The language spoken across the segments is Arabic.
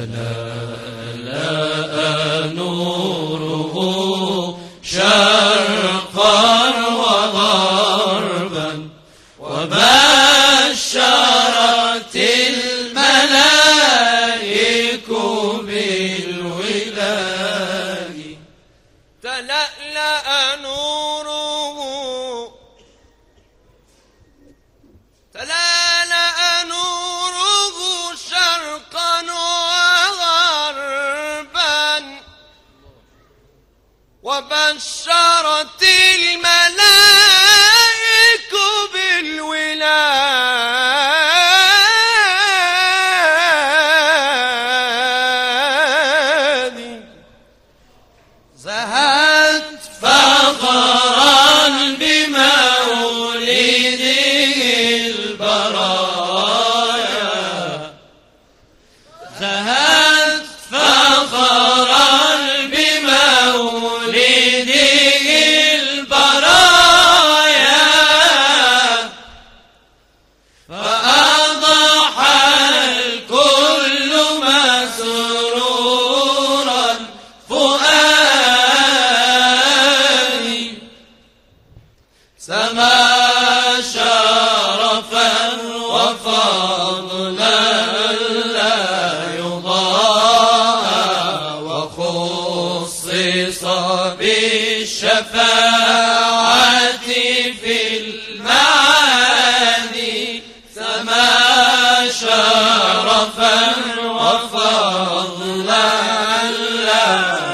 تلألأ نوره شرقا وغربا وبشرت الملائك بالولاء. تلألأ نوره شرقا وغربا وبشرت الملائك بالولاد. زهت فخرا بمولده البرايا، زهت فخرا بمولده البرايا، فأضحى الكل مسرورا فؤادي. سما شرفا وفضلا لا يضاهى، وخصص بالشفاعة في المعاني. سما شرفا وفضلا لا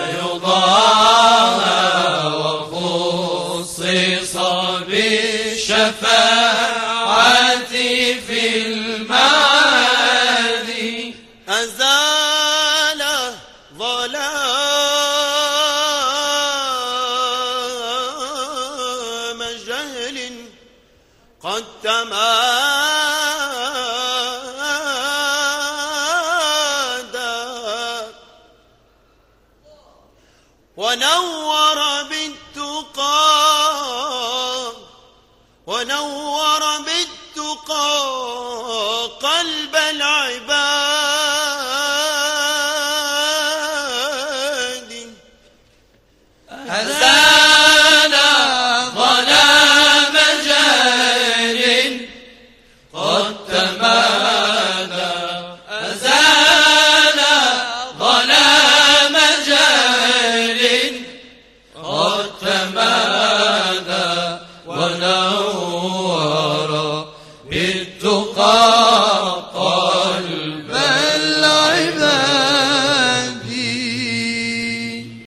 يضاهى، وخصص بالشفاعة في المعاني. أزال ظلام جهل قد تمادى، ونور بالتقى قلب